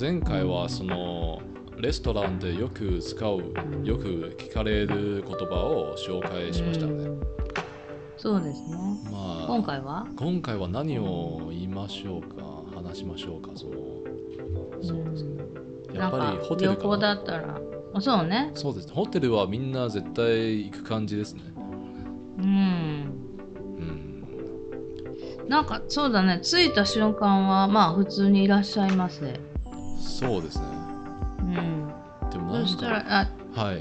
前回はそのレストランでよく使う、よく聞かれる言葉を紹介しましたね。 そうですね。 まあ、今回は何を言いましょうか、話しましょうか。そうですね。やっぱりホテルかな。旅行だったら、そうね。 そうです。ホテルはみんな絶対行く感じですね。 なんかそうだね。着いた瞬間はまあ普通にいらっしゃいませ。 そうですね。でもなんか、 そしたらはい。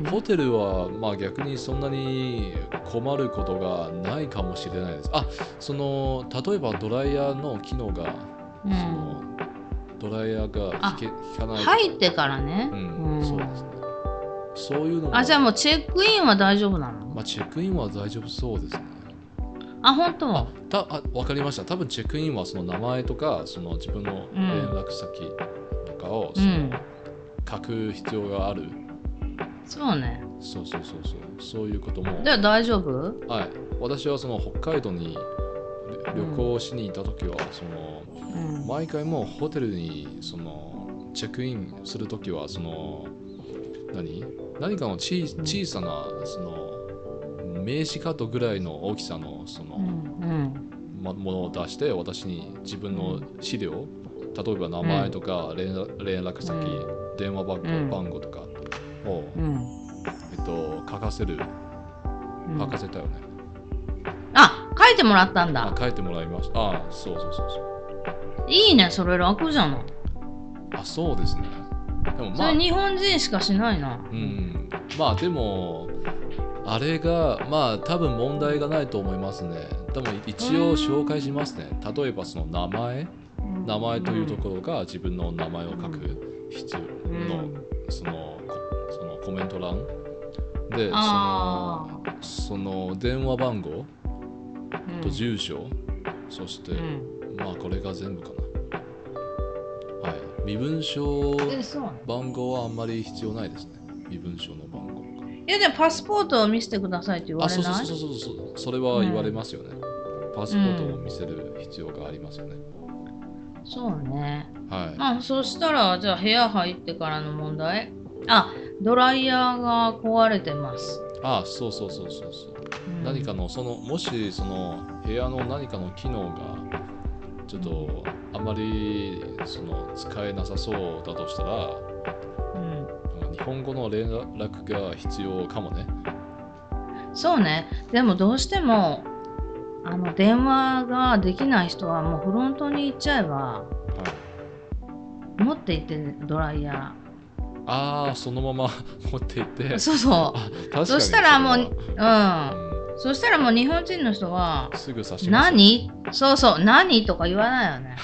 ホテルはまあ逆にそんなに困ることがないかもしれないです。その例えばドライヤーの機能が、そのドライヤーが効かない。 入ってからね。 そうですね。そういうのも。 じゃあもうチェックインは大丈夫なの？ まあチェックインは大丈夫そうですね。 本当？ わかりました。多分チェックインはその名前とかその自分の連絡先とかをその書く必要がある。 そうね。 そういうことも。 じゃあ大丈夫？ はい。私はその北海道に旅行しに行った時はその、毎回もうホテルにそのチェックインする時はその何かの小さなその名刺カードぐらいの大きさのその、ものを出して私に自分の資料、例えば名前とか連絡先、電話番号とかを、書かせたよね。 書いてもらったんだ。 書いてもらいました。そういいね、それ楽じゃない。 そうですね。 でもそれ日本人しかしないな。 まあでもあれがまあ多分問題がないと思いますね。でも一応紹介しますね。例えばその名前というところが自分の名前を書く必要の、そのコメント欄でその電話番号と住所、そしてまあこれが全部かな。はい。身分証番号はあんまり必要ないですね。身分証の番号。 いやでもパスポートを見せてくださいって言われない？ それは言われますよね。パスポートを見せる必要がありますよね。 そうね。 はい。 そしたらじゃあ部屋入ってからの問題。ドライヤーが壊れてます。 そう。何かのもしその部屋の何かの機能がちょっとあまりその使えなさそうだとしたら、日本語の連絡が必要かもね。 そうね。でもどうしても電話ができない人はもうフロントに行っちゃえば、持って行って、ドライヤー。そのまま持って行って。 そう。確かにそしたらもうそしたらもう日本人の人はすぐ差します。 何とか言わないよね。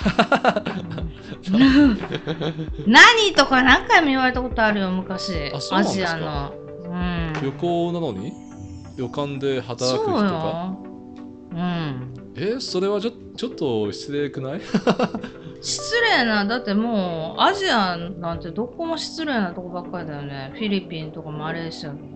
何とか何回も言われたことあるよ、昔。アジアの。 旅行なのに旅館で働く人が。それはちょっと失礼くない？ 失礼な、だってもうアジアなんてどこも失礼なとこばっかりだよね。フィリピンとかマレーシアとか。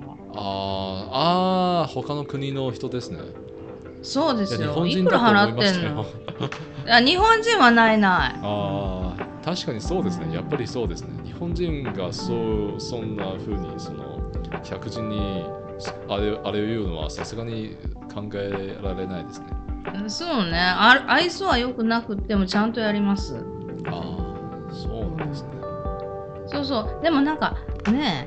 他の国の人ですね。 そうですよ。 日本人だと思いましたよ。 日本人はない。 確かにそうですね。やっぱりそうですね。日本人がそんな風にその客人にあれを言うのはさすがに考えられないですね。 そうね。愛想は良くなくってもちゃんとやります。 そうなんですね。 そう。でもなんかね、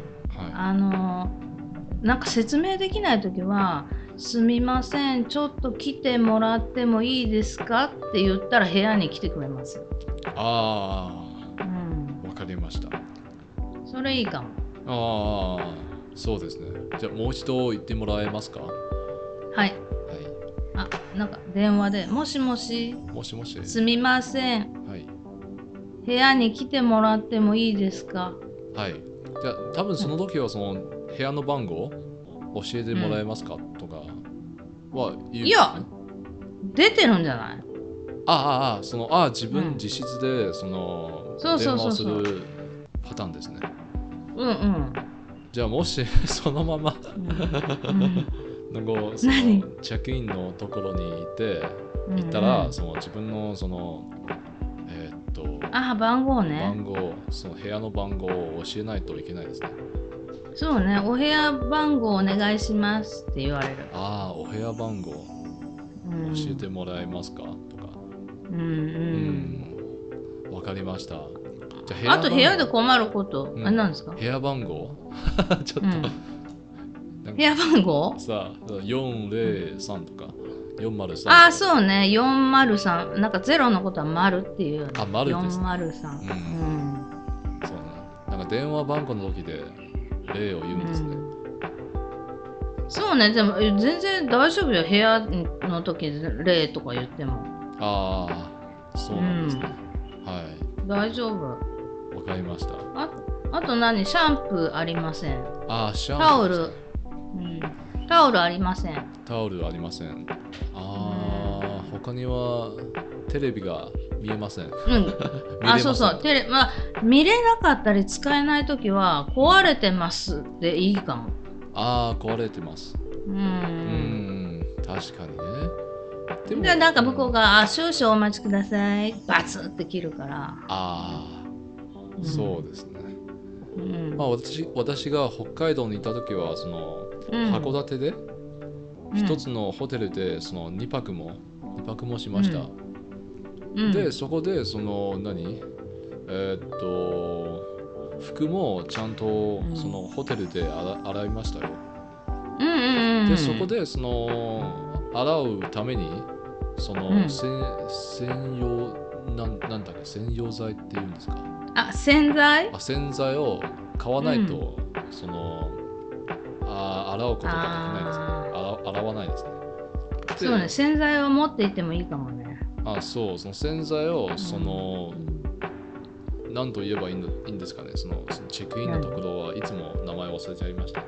なんか説明できないときは、すみません、ちょっと来てもらってもいいですかって言ったら部屋に来てくれます。 わかりました。 それいいかも。 そうですね。じゃあもう一度言ってもらえますか？ はい。なんか電話で、もしもし。すみません。部屋に来てもらってもいいですか？ はい。じゃあ多分その時はその部屋の番号教えてもらえますか、とかは言う、ね。 いや、出てるんじゃない？ 自分自筆でその電話をするパターンですね。じゃあもしそのままなんかそのチェックインのところに行ったら、その自分のそのあ、番号ね。 番号、その部屋の番号を教えないといけないですね。 そうね、お部屋番号お願いしますって言われる。 ああ、お部屋番号教えてもらえますかとか。わかりました。じゃあと部屋で困ること、あれなんですか？ 部屋番号ちょっと、 部屋番号さあ、403とか403。 ああ、そうね、403。なんかゼロのことは丸っていうよね。 あ、丸ですね。 403。 そうね。なんか電話番号の時で例を言うんですね。 そうね、でも全然大丈夫よ。部屋の時で例とか言っても。 ああ、そうなんですね。はい。 大丈夫。 わかりました。 あと何？シャンプーありません。 ああ、シャンプー。 タオル。タオルありません。 タオルありません。ああ、他にはテレビが見えません。 あ、そうそう。見れなかったり使えないときは壊れてますでいいかも。 ああ、壊れてます。確かにね。 でもなんか向こうが少々お待ちください。バツって切るから。 ああ、そうですね。まあ私が北海道にいたときはその函館で一つのホテルでその2泊もしました。でそこでその服もちゃんとそのホテルで洗いましたよ。でそこでその洗うためにその専用剤っていうんですか？ あ、洗剤？ 洗剤を買わないと、その洗うことができないですね。洗わないですね。 そうね、洗剤を持っていてもいいかもね。 その洗剤をその、何と言えばいいんですかね。そのチェックインのところはいつも名前忘れちゃいました。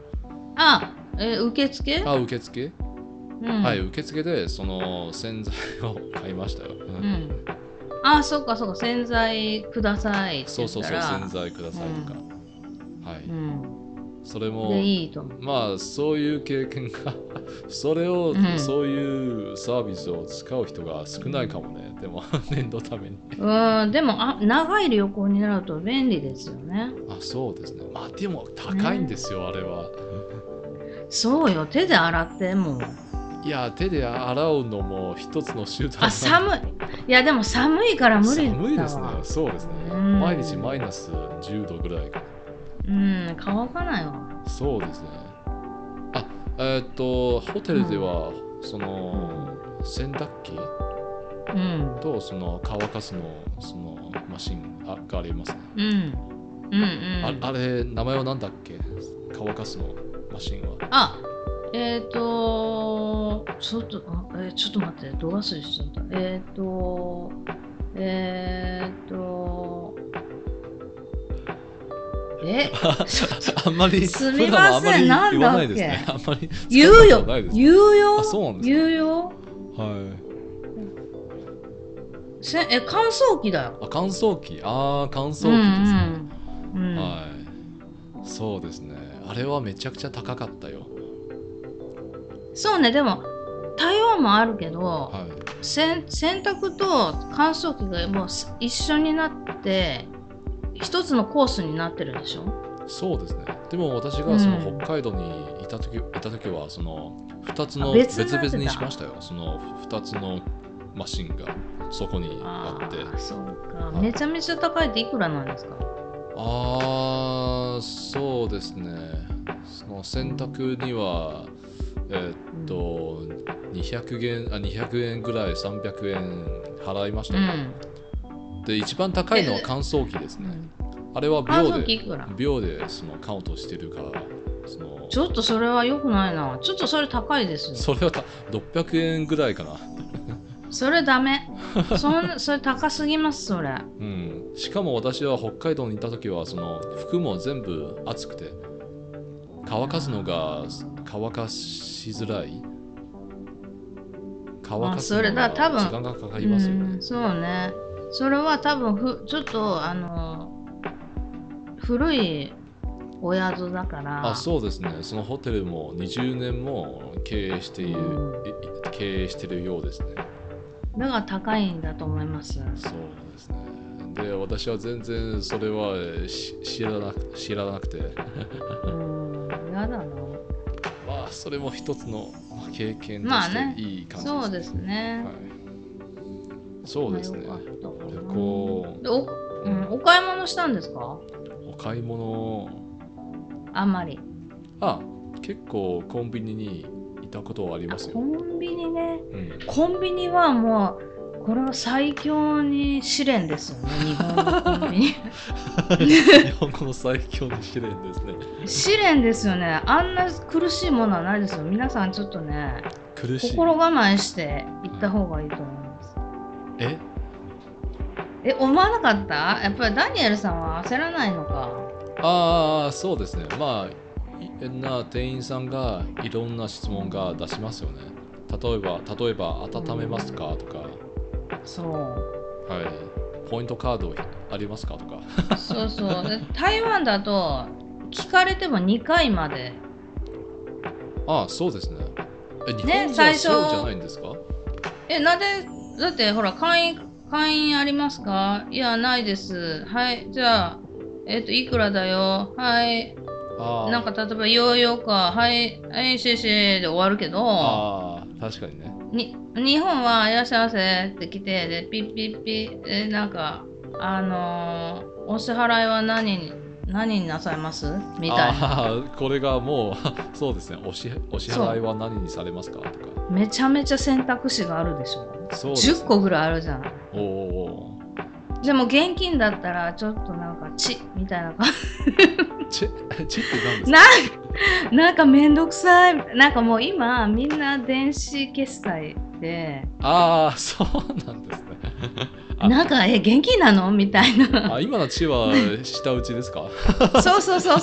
受付？ 受付？はい、受付でその洗剤を買いましたよ。 そうか洗剤くださいって言ったら。 洗剤くださいとか。はい。それもいいと思う。 まあそういう経験がそういうサービスを使う人が少ないかもね。でも念のために。 でも長い旅行になると便利ですよね。 そうですね。まあでも高いんですよ、あれは。 そうよ、手で洗っても。 いや、手で洗うのも一つの手段。 寒い。いやでも寒いから無理だわ。 寒いですね。そうですね。毎日マイナス10度ぐらいか。 乾かないわ。 そうですね。ホテルではその洗濯機とその乾かすのそのマシンがありますね。あれ名前は何だっけ？乾かすのマシンは。 ちょっと待って、ど忘れしちゃった。 あんまりすみません、なんだっけ？ あんまり言うよ。 そうなんですか？ 言うよ。 はい。 乾燥機だよ。 乾燥機。乾燥機ですね。はい。そうですね。あれはめちゃくちゃ高かったよ。 そうね、でも台湾もあるけど、洗濯と乾燥機がもう一緒になって一つのコースになってるでしょ。 そうですね。でも私がその北海道にいた時はその2つの別々にしましたよ。その2つのマシンがそこにあって。 そうか。めちゃめちゃ高いっていくらなんですか？ そうですね。その洗濯には200円ぐらい300円払いましたよ。で一番高いのは乾燥機ですね。あれは秒でそのカウントしてるからちょっとそれは良くないな。ちょっとそれ高いですよ。 それは600円ぐらいかな。 それダメ。それ高すぎますそれ。 しかも私は北海道にいた時はその服も全部暑くて乾かすのが乾かしづらい。乾かすのが時間がかかりますよね。 そうね。それは多分ちょっと古いお宿だから。 そうですね。そのホテルも20年も経営してるようですね。 だから高いんだと思います。 そうですね。 で私は全然それは知らなくてやだな。 まあそれも一つの経験としまあねていい感じですね。 そうですね。 はい、そうですね。 まあよかったかな。 旅行でお買い物したんですか？ お買い物あんまり。 結構コンビニにいたことはありますコよ。 ンビニね。 うん、 コンビニはもうこれは最強に試練ですよね、日本のコンビニ。 日本語の最強の試練ですね。 試練ですよね。あんな苦しいものはないですよ。皆さんちょっとね、 苦しい。 心構えして行った方がいいと思います。思わなかった？やっぱりダニエルさんは焦らないのか。 そうですね。まあ店員さんがいろんな質問が出しますよね。例えば温めますかとか、 そう。 はい、ポイントカードありますかとか。 そうそう。で台湾だと聞かれても2回まで。 そうですね。日本ね、 じゃ最初そうじゃないんですか？ なんで、だってほら会員ありますか？いや、ないです。はい、じゃあ、いくらだよ。はい。なんか例えばヨーヨーか、はい、はい、シェシェで終わるけど、 確かにね。 日本はいらっしゃいませって来て、で、ピッピッピッ、なんか、お支払いは何になさいますみたいな。 これがもうそうですね。お支払いは何にされますかとか。 めちゃめちゃ選択肢があるでしょ。 そうですね、 10個ぐらいあるじゃない。 おでも現金だったらちょっとなんかみたいな感じ。チって何ですか？ なんかめんどくさい。なんかもう今みんな電子決済で。 そうなんですね。 なんか現金なのみたいな。 今のチは下打ちですか？ そう。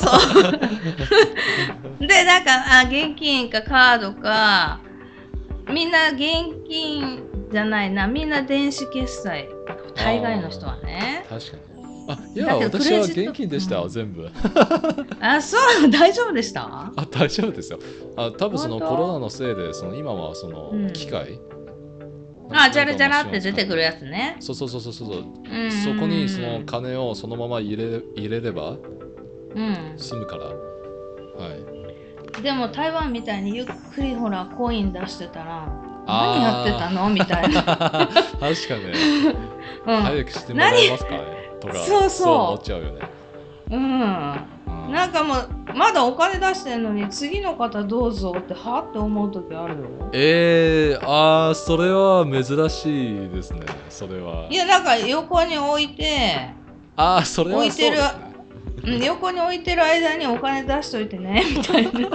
でなんか現金かカードか、みんな現金じゃないな、みんな電子決済。大概の人はね。 確かに。いや私は現金でした、全部。 そう大丈夫でした？ 大丈夫ですよ。多分そのコロナのせいで今はその機械、 じゃらじゃらって出てくるやつね。 そう。そこにその金をそのまま入れれば済むから。 でも台湾みたいにゆっくりほらコイン出してたら何やってたのみたいな。確かに。早くしてもらえますかねとか、そう思っちゃうよね。 なんかもうまだお金出してんのに次の方どうぞってって思う時あるよ。それは珍しいですね。それは。 いやなんか横に置いて、 それはそうですね。 横に置いてる間にお金出しといてねみたいな。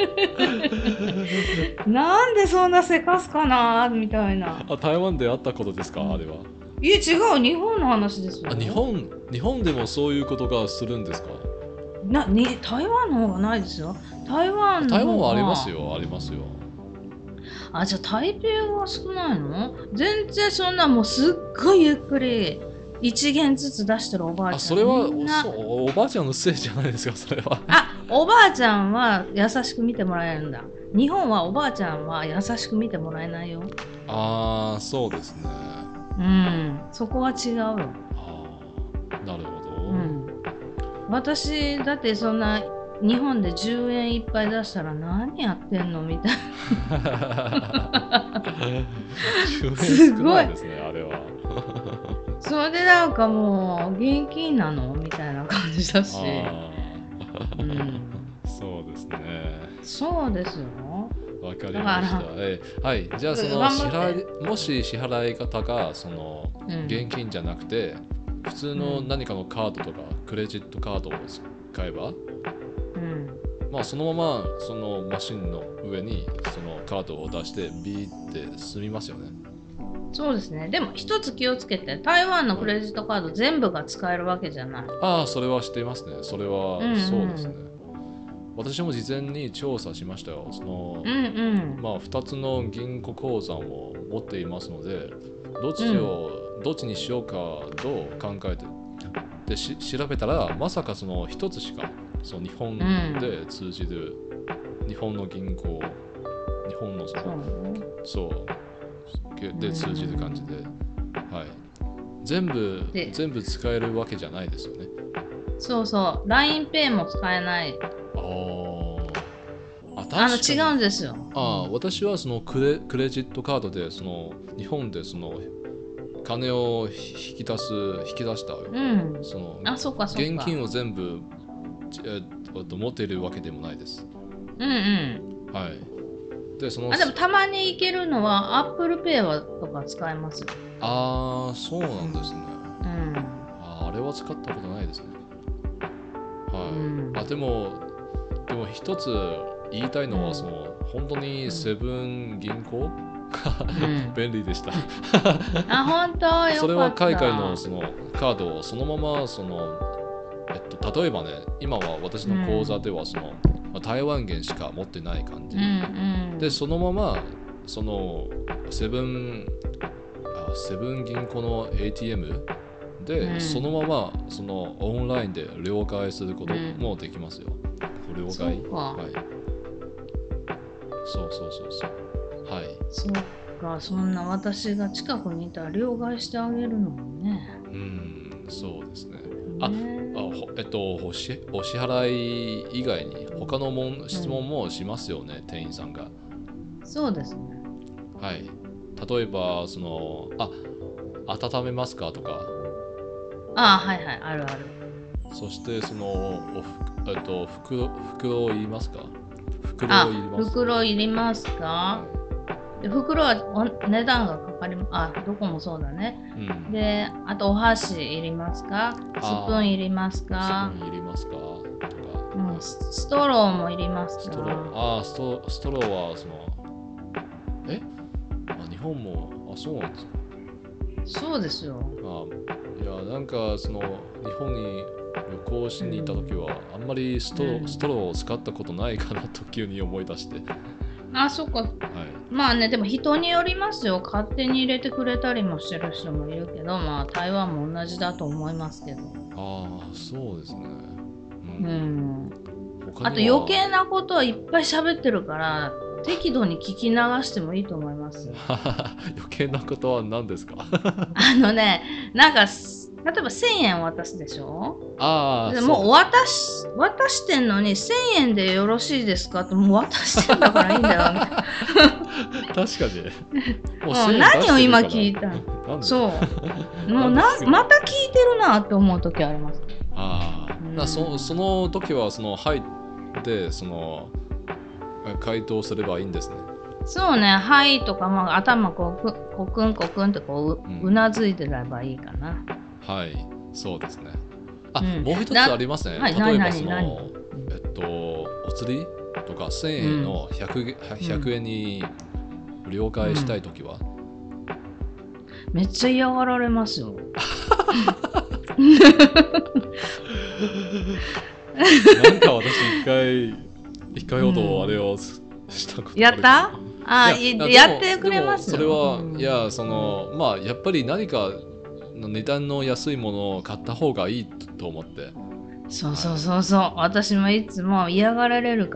なんでそんなせかすかなみたいな。 台湾であったことですか、あれは。 いや違う、日本の話ですよ。 日本でもそういうことがするんですか？ 台湾の方がないですよ。台湾はありますよ。 じゃあ台北が少ないの？全然そんなもうすっごいゆっくり1元ずつ出してるおばあちゃん。 それはおばあちゃんのせいじゃないですか、それは。 おばあちゃんは優しく見てもらえるんだ。日本はおばあちゃんは優しく見てもらえないよ。 そうですね。 そこは違うよ。 なるほど。 私だってそんな日本で10円いっぱい出したら何やってんのみたいな。 すごいですね、あれは。 それでなんかもう現金なのみたいな感じだし。 そうですね。 そうですよ。 わかりました。はい、じゃあそのもし支払い方がその現金じゃなくて、普通の何かのカードとかクレジットカードを使えば、そのままそのマシンの上にそのカードを出してビーって済みますよね。 そうですね。でも一つ気をつけて、台湾のクレジットカード全部が使えるわけじゃない。 それは知っていますね。それはそうですね。私も事前に調査しましたよ。その2つの銀行口座を持っていますので、どっちにしようかと考えてで調べたら、まさかその1つしかその日本で通じる、日本の銀行、日本ので通じる感じで、 全部使えるわけじゃないですよね。 そうそう、LINEPay も使えない。違うんですよ。 私はそのクレジットカードでその日本でその金を引き出したよ。そのそうかそうか。 現金を全部、持っているわけでもないです。はい。でもたまに行けるのは Apple Pay とか使えます。 そうなんですね。あれは使ったことないですね。はい。でも一つ言いたいのは、その本当にセブン銀行が便利でした。 本当よかった。 それは海外のそのカードをそのままその例えばね、今は私の口座ではその、台湾元しか持ってない感じ、でそのままそのセブン銀行の ATM で、そのままそのオンラインで両替することもできますよ。両替。はい。そうはい。 そうか、そんな私が近くにいたら両替してあげるのもね。 そうですね。お支払い以外に他の質問もしますよね、店員さんが。 そうですね。 はい。例えばその温めますかとか。 はいはい、あるある。 そしてその袋いりますか？ 袋いりますか？袋は値段がかかります。どこもそうだね。で、あとお箸いりますか？スプーンいりますか？ スプーンいりますか？とか。 ストローもいりますか？ ストローはその日本もそうなんですか？ そうですよ。 いや、なんかその日本に旅行しに行った時は、あんまりストローを使ったことないかなと急に思い出して。 そっか。まあね、でも人によりますよ。勝手に入れてくれたりもしてる人もいるけど、台湾も同じだと思いますけど。 そうですね。 あと余計なことはいっぱい喋ってるから、適度に聞き流してもいいと思います。 余計なことは何ですか？ なんか例えば1000円渡すでしょ？でもう渡してんのに1000円でよろしいですかって、もう渡してんだからいいんだよみたいな。 確かに。 もう何を今聞いたの？そう。もうまた聞いてるなって思う時あります。 その時はその入ってその回答すればいいんですね。そうね、 はいとか、頭コクンコクンってうなずいてればいいかな。 はい、そうですね。もう一つありますね。例えばそのお釣りとか1000円の100円に了解したいときは、 めっちゃ嫌がられますよ。 なんか私一回ほどあれをしたことやった？やってくれますよ。 それは、いや、そのやっぱり何か値段の安いものを買った方がいいと思って。 そう、私もいつも嫌がられるから、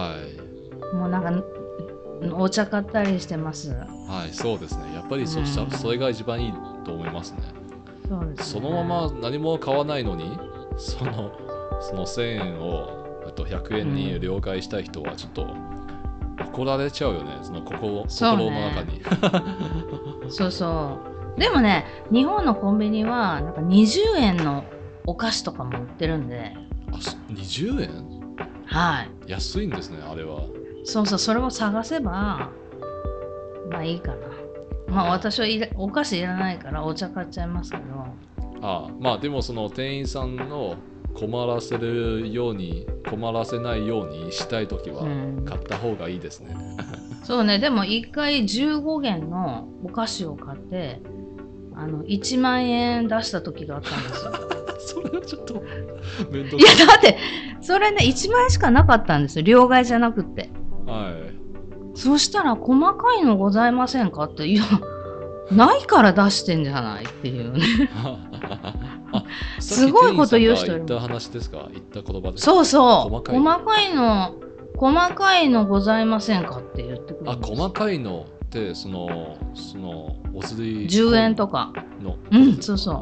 もうなんかお茶買ったりしてます。 そうですね。やっぱりそれが一番いいと思いますね。 そうですね。 そのまま何も買わないのにその1000円を100円に了解したい人はちょっと怒られちゃうよね。その心の中に。 そう。でもね、日本のコンビニはなんか20円のお菓子とかも売ってるんで。 20円？ はい。 安いんですね、あれは。 そう、それを探せばいいかな。私はお菓子いらないからお茶買っちゃいますけど。 でもその店員さんの困らせないようにしたいときは買った方がいいですね。 そうね、でも1回15元のお菓子を買って1万円出した時があったんですよ。 それはちょっと面倒くさい。 いやだってそれね1万円しかなかったんですよ、両替じゃなくて。そしたら細かいのございませんかって、いやないから出してんじゃないっていうね。すごいこと言う人いる。 言った話ですか？言った言葉ですか？そう細かいのございませんかって言ってくるんです。 細かいのってそのお釣り 10円とかの、 そうそう。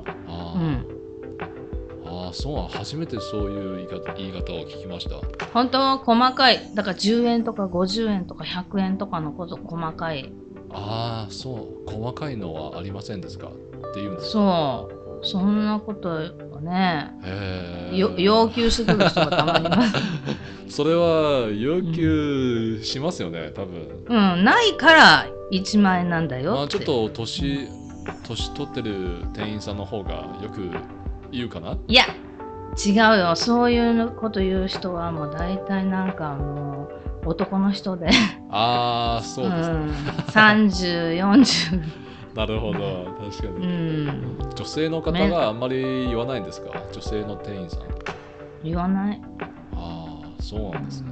そう、初めてそういう言い方を聞きました。 本当は細かい、だから10円とか50円とか100円とかのこと細かい。 そう、細かいのはありませんですかっていうんですか。 そう、そんなことをね、要求してくる人がたまにいます。 それは要求しますよね、多分。 ないから1万円なんだよって。 まあちょっと年取ってる店員さんの方がよく言うかな。 いや違うよ、そういうこと言う人はもう大体なんかもう男の人でそうですね、 30、40 なるほど、確かに、女性の方があんまり言わないんですか、女性の店員さん。 言わない。 そうなんですね。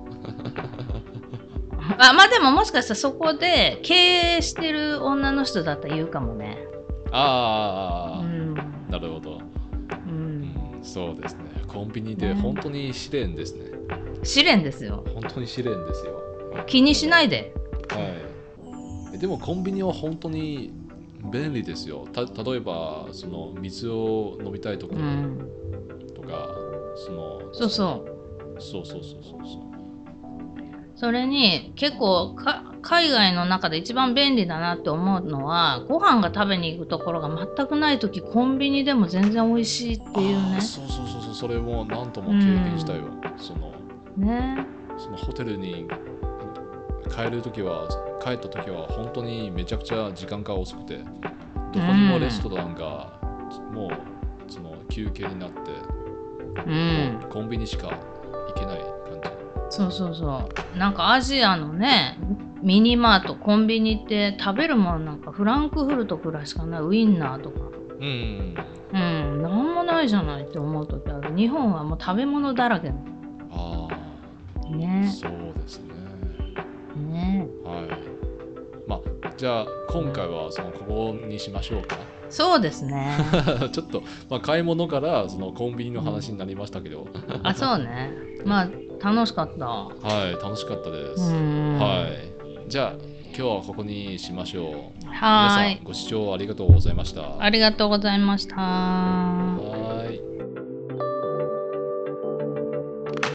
まあでももしかしたらそこで経営してる女の人だったら言うかもね。 なるほど。そうですね。コンビニで本当に試練ですね。 試練ですよ。 本当に試練ですよ。 気にしないで。 でもコンビニは本当に便利ですよ。例えばその水を飲みたいとか、そうそう。 それに結構海外の中で一番便利だなって思うのは、ご飯が食べに行くところが全くない時コンビニでも全然美味しいっていうね。 そう、それも何とも経験したよ。そのホテルに帰った時は本当にめちゃくちゃ時間が遅くて、どこにもレストランがもうその休憩になって、もうコンビニしか行けない感じ。 そうなんかアジアのねミニマートコンビニって食べるものなんかフランクフルトくらいしかない。ウインナーとかなんもないじゃないって思う時ある。日本はもう食べ物だらけね。 そうですね。まあじゃあ今回はここにしましょうか。 そうですね。 ちょっと、買い物からそのコンビニの話になりましたけど。 そうね。まあ楽しかった。 楽しかったです。じゃあ今日はここにしましょう。皆さんご視聴ありがとうございました。 ありがとうございました。